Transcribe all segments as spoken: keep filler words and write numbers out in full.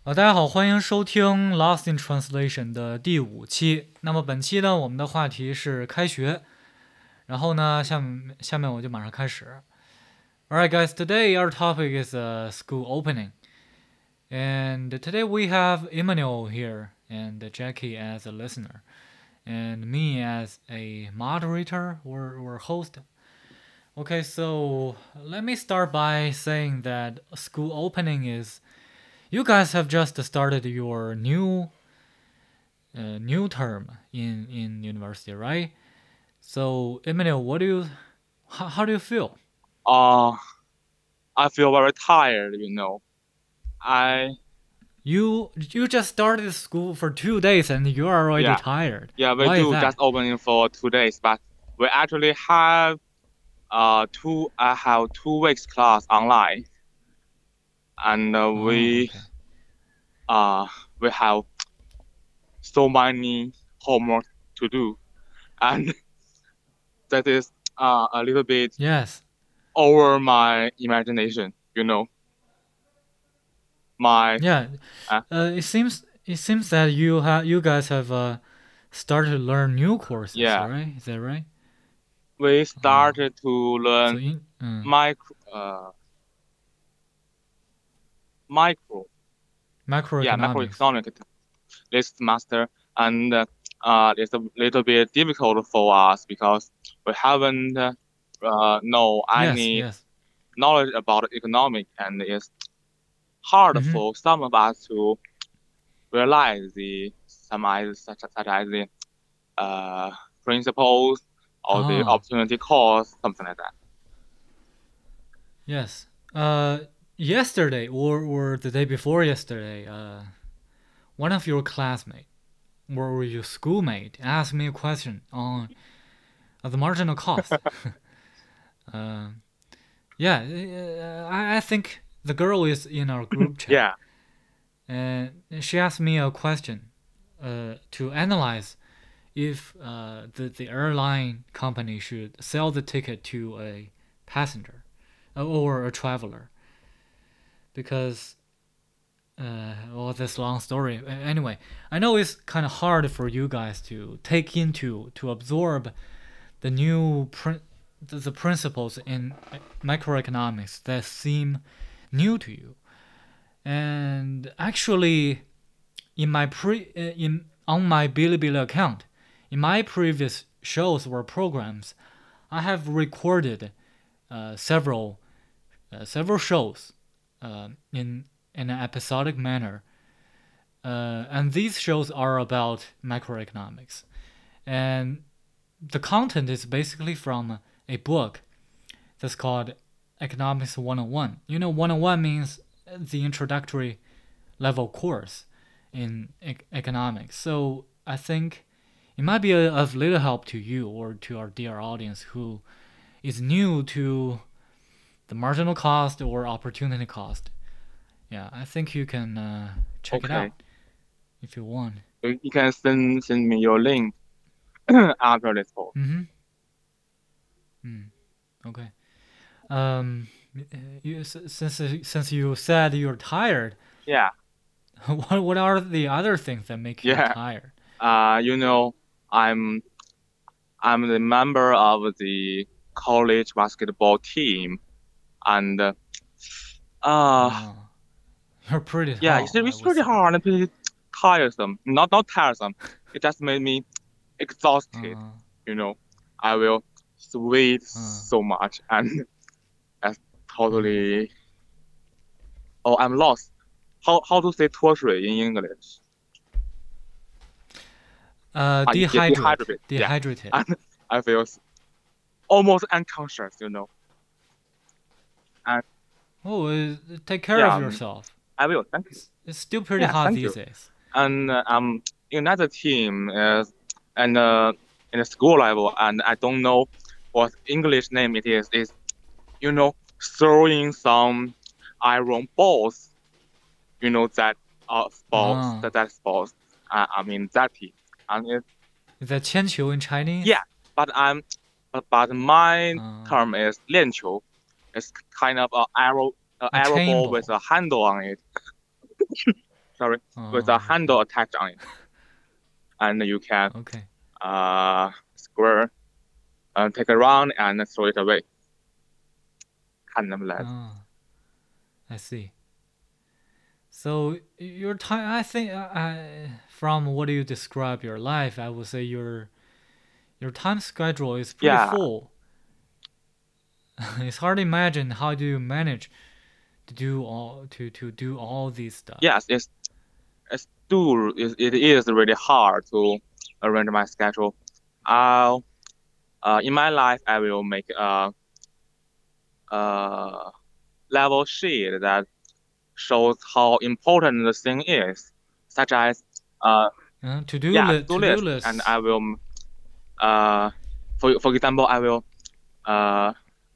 好，大家好，欢迎收听《Lost in Translation》的第五期。那么本期呢，我们的话题是开学。然后呢，下面下面我就马上开始。Alright, guys, today our topic is uh, school opening. And today we have Emmanuel here and Jackie as a listener and me as a moderator or, or host. Okay, so let me start by saying that school opening is you guys have just started your new uh, new term in in university, right? So, Emmanuel, what do you how, how do you feel? Uh, I feel very tired, you know. I, You you just started school for two days and you are already yeah, tired. yeah, we Why is do just that? opening for two days, but we actually have uh two, I have two weeks class online, and uh, Oh, we okay. uh we have so many homework to do, and that is uh a little bit Yes. over my imagination, you know. My Yeah. uh, Uh, it seems it seems that you have you guys have uh started to learn new courses, yeah, right? Is that right? we Oh, started to so learn in uh, micro uh micro yeah, macroeconomics. macroeconomic this semester, and uh, uh, it's a little bit difficult for us because we haven't uh, uh, know Yes. any Yes. knowledge about economic, and it's hard Mm-hmm. for some of us to realize the some as such, such as the uh, principles or the Ah. opportunity cost, something like that. Yes. Uh, yesterday or or the day before yesterday, uh, one of your classmates or your schoolmate asked me a question on uh, the marginal cost. uh, yeah, uh, I, I think the girl is in our group chat, Yeah. and she asked me a question uh, to analyze if uh, the the airline company should sell the ticket to a passenger uh, or a traveler because uh, well, this long story. Anyway, I know it's kind of hard for you guys to take into to absorb the new prin- the, the principles in microeconomics that seem new to you. And actually, in my pre uh, in on my Bilibili account, in my previous shows or programs, I have recorded uh, several uh, several shows uh, in in an episodic manner. Uh, and these shows are about macroeconomics. And the content is basically from a book that's called Economics one oh one. You know, one oh one means the introductory level course in e- economics. So I think it might be a, of little help to you or to our dear audience who is new to the marginal cost or opportunity cost. Yeah, I think you can uh, check it Okay. out if you want. You you can send send me your link after this call. Mm-hmm. Mm, okay. Um, you, since since you said you're tired, Yeah. what what are the other things that make you Yeah. tired? Uh, you know, I'm I'm the member of the college basketball team, and uh, uh Uh, you're pretty yeah, it's, tall, I it's would pretty say. hard and pretty tiresome. Not not tiresome. It just made me exhausted. Uh, You know, I will sweat uh, so much, and that's uh, totally. Oh, I'm lost. How how to say 脱水 in English? uh, Ah, yeah, dehydrate, dehydrated. Yeah, dehydrated. and I feel s- almost unconscious. You know, and Oh, uh, take care yeah, of um, yourself. I will. Thank you. It's, it's still pretty Yeah, hot thank these you. days. And uh, um another team is and uh, in the school level, and I don't know what English name it is. Is you know throwing some iron balls. You know that uh sports Uh, that that sports. Uh, I mean that team, and it, is that 铅球 in yeah. Chinese? But I'm but, but my Uh, term is 链球. It's kind of a arrow a a arrow chain ball with ball. a handle on it. sorry, with a Oh, okay. handle attached on it, and you can Okay. uh square, uh, take a round and throw it away. 看能不能 Oh, I see. So your time, I think, uh, I, from what you describe your life, I would say your your time schedule is pretty Yeah, full. It's hard to imagine how do you manage to do all to to do all these stuff. yes, it's it's do it, it is really hard to arrange my schedule. I'll uh in my life I will make a a level sheet that shows how important the thing is, such as uh Uh, to do yeah li- to-do to do list, and lists. I will uh for for example I will uh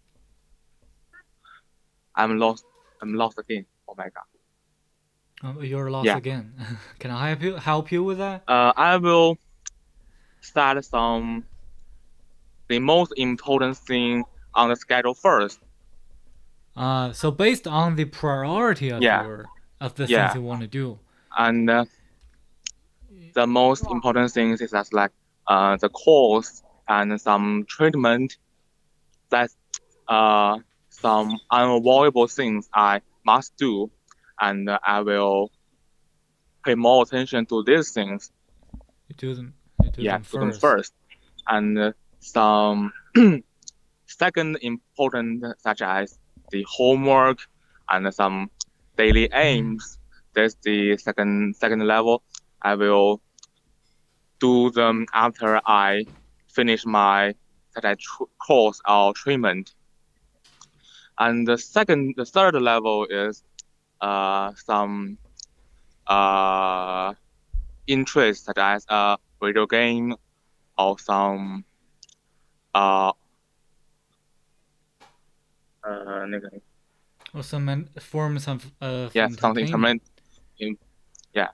I'm lost I'm lost again. Oh my god. Oh, you're lost Yeah. again. Can I help you help you with that? Uh I will start some the most important thing on the schedule first. Uh, so based on the priority of Yeah. your of the things Yeah. you want to do. And uh, the most important things is that like uh the course and some treatment that uh some unavoidable things I must do, and uh, I will pay more attention to these things. You do them. You do Yeah, them to them first. first, and uh, some second important such as the homework and some daily aims. That's the second second level. I will do them after I finish my such as tr- course or treatment. And the second, the third level is uh some uh interest such as a video game or some uh uh 那个 Or some en- forms of of yeah something entertainment. in yeah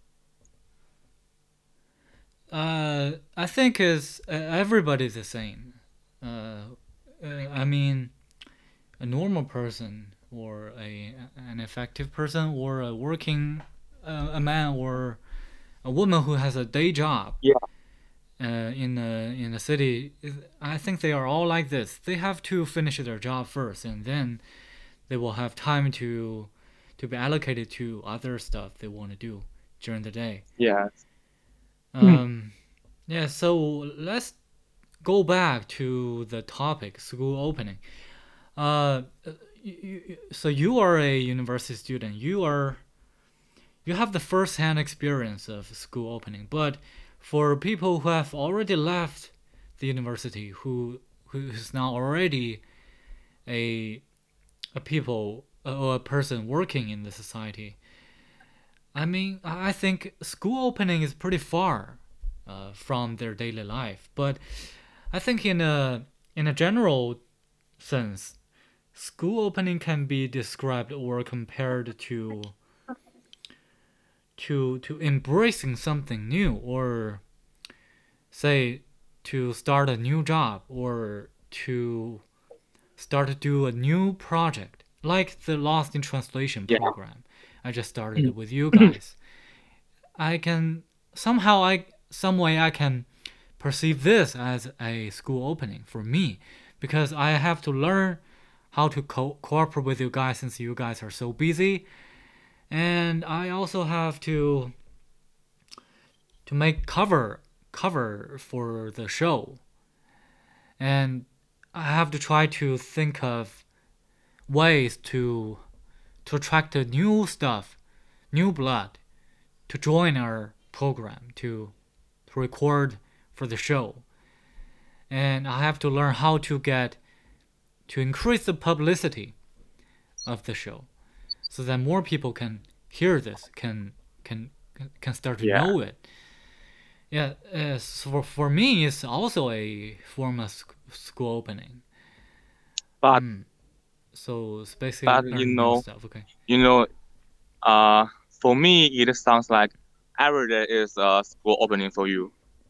Uh, I think is uh, everybody's the same. Uh, uh, I mean, a normal person or a an effective person or a working uh, a man or a woman who has a day job yeah uh, in a in a city. I think they are all like this. They have to finish their job first, and then they will have time to to be allocated to other stuff they want to do during the day. yeah Um, yeah. So let's go back to the topic, school opening. Uh, you, you, so you are a university student. You are you have the first-hand experience of school opening. But for people who have already left the university, who who is now already a a people or a person working in the society, I mean, I think school opening is pretty far uh, from their daily life. But I think in a in a general sense, school opening can be described or compared to to to embracing something new, or say to start a new job, or to start to do a new project like the Lost in Translation yeah program I just started with you guys. I can somehow I some way I can perceive this as a school opening for me, because I have to learn how to co- cooperate with you guys since you guys are so busy, and I also have to to make cover cover for the show, and I have to try to think of ways to to attract the new stuff, new blood, to join our program, to to record for the show, and I have to learn how to get to increase the publicity of the show, so that more people can hear this, can can can start to yeah know it. Yeah, uh, so for, for me, it's also a form of sc- school opening. but Mm. So it's basically but you learning new know stuff. Okay. you know uh for me it sounds like every day is a school opening for you.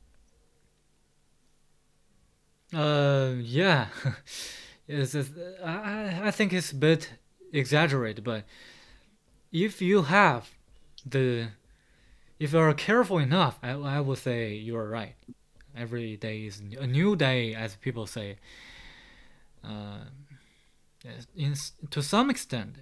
Uh, yeah. it's, it's, I I think it's a bit exaggerated, but if you have the if you are careful enough, I, I would say you're right. Every day is a new day, as people say. Uh, in, to some extent,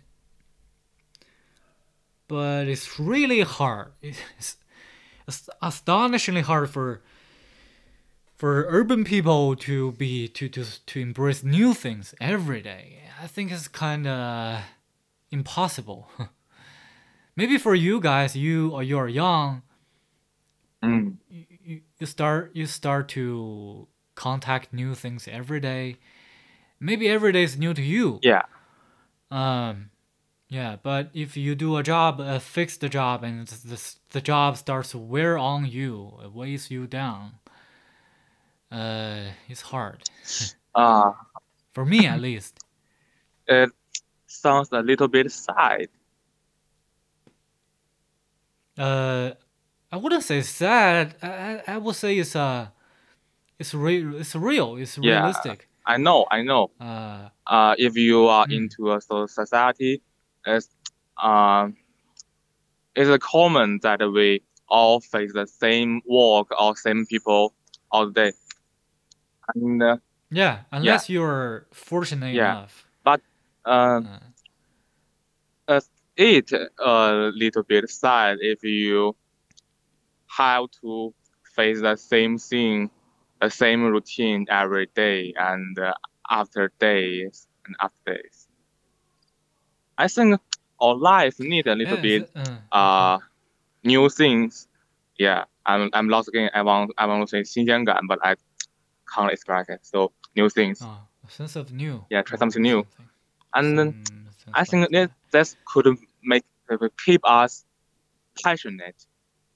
but it's really hard. It's, it's astonishingly hard for for urban people to be to to to embrace new things every day. I think it's kind of impossible. Maybe for you guys, you or you're young, Mm. you, you start you start to contact new things every day. Maybe every day is new to you. Yeah. Um, yeah, but if you do a job, a fixed job, and the the job starts to wear on you, it weighs you down. Uh, it's hard Uh, for me at least. it sounds a little bit sad. Uh, I wouldn't say sad. I I, I would say it's uh it's real. It's real. It's Yeah, realistic. I know, I know. Uh, Uh, if you are mm, into a so- society, it's um, it's common that we all face the same work or same people all day. And uh, yeah, yeah, unless you're fortunate yeah. enough. But uh, Uh, uh, it a little bit sad if you have to face the same thing, the same routine every day and uh, after days and after days. I think our life need a little yeah, is bit it, uh, okay. uh new things. Yeah, I'm I'm lost again. I want I want to say 新鲜感, but I can't express it. So new things. Oh, a sense of new Yeah, try or, something or new. something. And then Some I sense like think that that. that could make keep us passionate.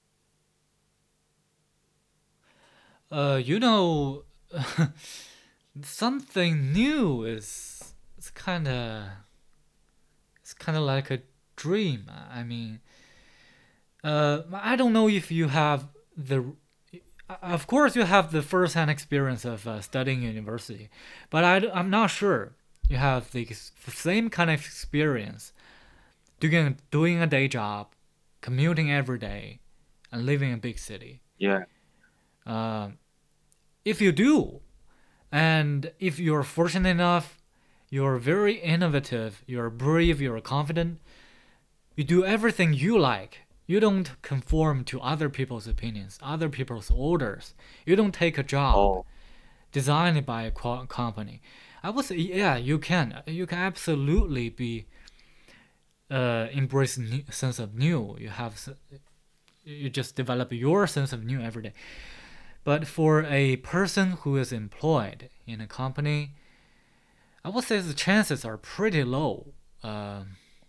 Uh, you know, something new is it's kind of it's kind of like a dream. I mean, uh, I don't know if you have the. Of course, you have the first-hand experience of uh, studying university, but I, I'm not sure you have the same kind of experience doing doing a day job, commuting every day, and living in a big city. Yeah, Um, if you do, and if you're fortunate enough, you're very innovative, you're brave, you're confident, you do everything you like. You don't conform to other people's opinions, other people's orders. You don't take a job oh, designed by a company. I would say, yeah, you can. You can absolutely be uh, embrace new, sense of new. You have you just develop your sense of new every day. But for a person who is employed in a company, I would say the chances are pretty low uh,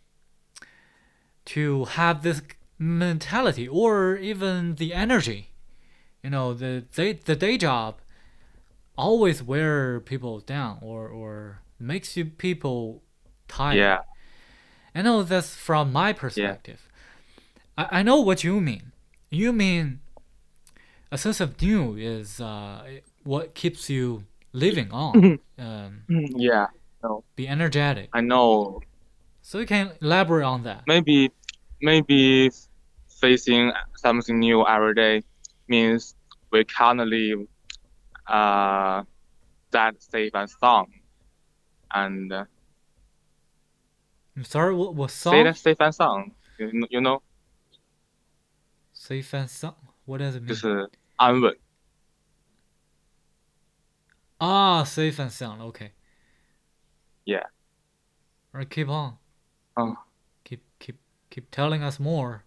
to have this mentality or even the energy. You know, the day, the day job always wear people down or, or makes you people tired. yeah, I know that's from my yeah, perspective. I, I know what you mean. You mean a sense of new is uh, what keeps you living on. Um, yeah. No, be energetic. I know. So you can elaborate on that. Maybe, maybe facing something new every day means we can't live uh that safe and sound. And uh, I'm sorry, what, what say song? that safe and sound, you know, you know, Safe and sound. What does it 就 mean? 是安稳. Ah, safe and sound. Okay. Yeah. All right, keep on. Uh, Keep keep keep telling us more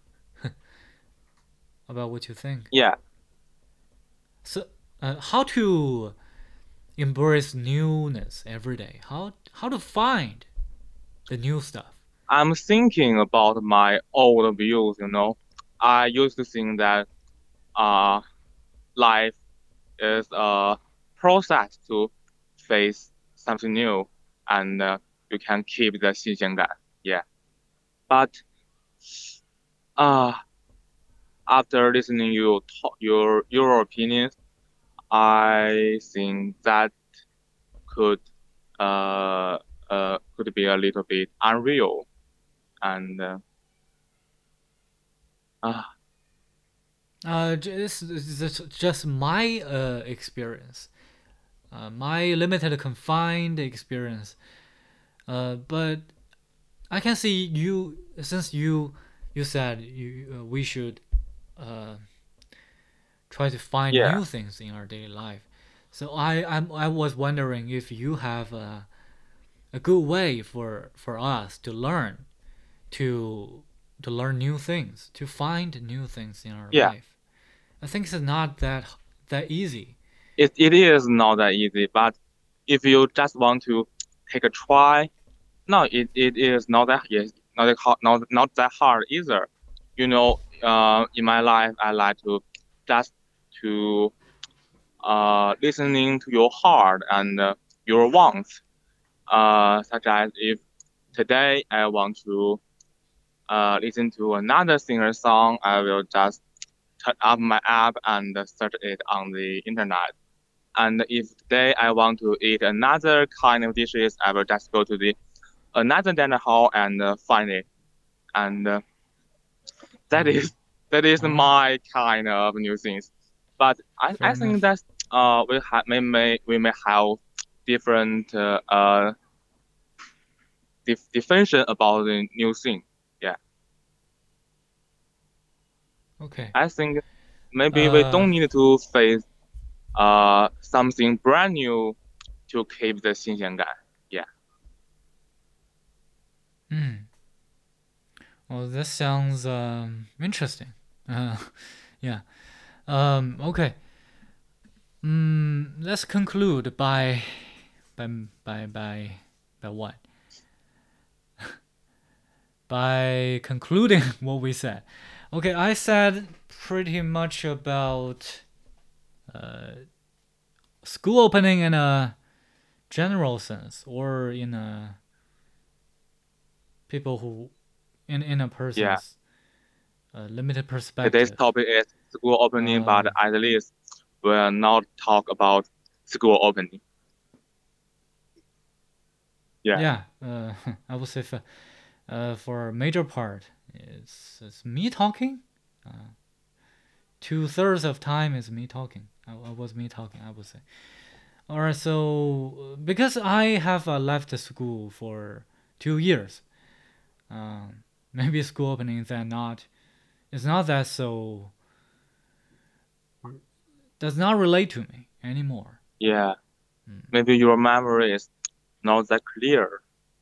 about what you think. yeah. So, uh, how to embrace newness every day? How how to find the new stuff? I'm thinking about my old views, you know. I used to think that uh life is a process to face something new and uh, you can keep the 新鲜感. Yeah. But uh after listening you talk, your your opinions, I think that could uh uh could be a little bit unreal and uh, Ah, Uh, just just just my uh experience, uh, my limited confined experience. Uh, but I can see you since you you said you uh, we should uh try to find yeah, new things in our daily life. So I I'm, I was wondering if you have a, a good way for for us to learn to to learn new things, to find new things in our yeah. life. I think it's not that that easy. It it is not that easy, but if you just want to take a try, no, it, it is not that yes, not that hard, not not that hard either. You know, uh, in my life, I like to just to uh listening to your heart and uh, your wants. Uh, such as if today I want to uh listen to another singer song, I will just turn up my app and search it on the internet. And if today I want to eat another kind of dishes, I will just go to the another dinner hall and uh, find it. And uh, that Mm. is that is All right, my kind of new things. But I, fair I think enough. that uh we have may, may we may have different uh, uh def- definition about the new thing. Yeah, Okay. I think maybe we Uh, don't need to face uh something brand new to keep the 新鲜感. Yeah, mm. Well, this sounds um interesting. Uh, yeah. Um. Okay. Mm, let's conclude by by by by by what? By concluding what we said. Okay, I said pretty much about uh, school opening in a general sense, or in a people who in in a yeah. person's uh, limited Today's perspective. topic is school opening, but Um, at least we'll not talk about school opening. Yeah, yeah, uh, I would say for uh, for a major part, it's it's me talking. Uh, Two thirds of time is me talking. I, I was me talking. I would say. All right, so uh, because I have uh, left the school for two years, um, maybe school openings are not. It's not that so. Does not relate to me anymore. yeah. Mm. Maybe your memory is not that clear.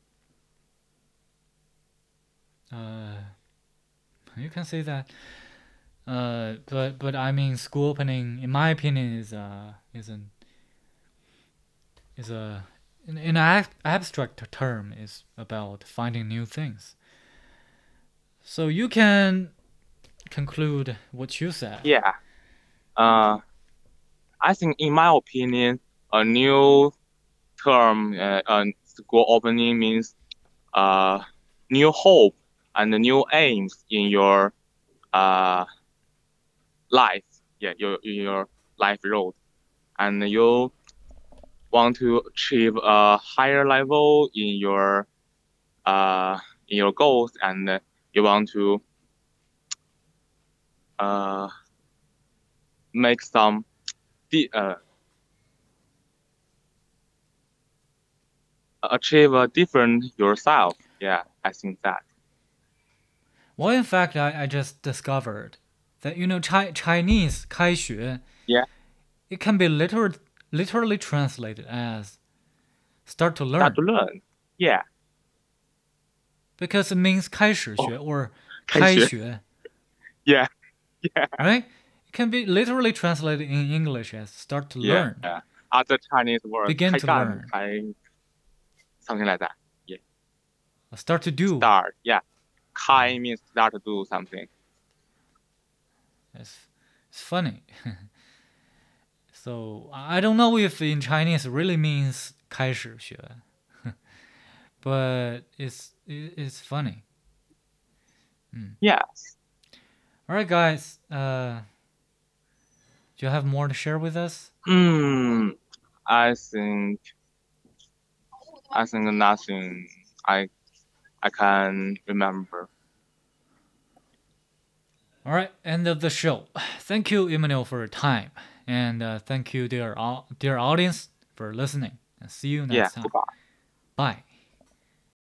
Uh, you can say that. Uh, but but I mean, school opening, in my opinion, is uh is an is a in, in an abstract term is about finding new things. So you can conclude what you said. Yeah. Uh, I think, in my opinion, a new term, uh, uh, school opening means uh, new hope and new aims in your uh life. Yeah, your in your life road, and you want to achieve a higher level in your uh in your goals, and you want to uh make some di- uh achieve a different yourself. Yeah, I think that. Well, in fact, I, I just discovered that you know Chi- Chinese 开学 Yeah, it can be literal, literally translated as start to start to learn learn. Yeah. because it means 开始学 Oh, or 开学. 开学, Yeah, yeah, right? It can be literally translated in English as start to yeah. learn, Other Chinese words, begin 开 to 干, learn, 开 something like that. Yeah, start to do. start. Yeah, 开 Mm. means start to do something. It's, it's funny. So I don't know if in Chinese it really means 开始学, but it's it's funny. Mm. Yes. All right, guys. Uh, do you have more to share with us? Hmm. I think I think nothing. I I can remember. All right, end of the show. Thank you, Emmanuel, for your time, and uh, thank you, dear dear audience, for listening. And see you Yeah, next time. goodbye. Bye.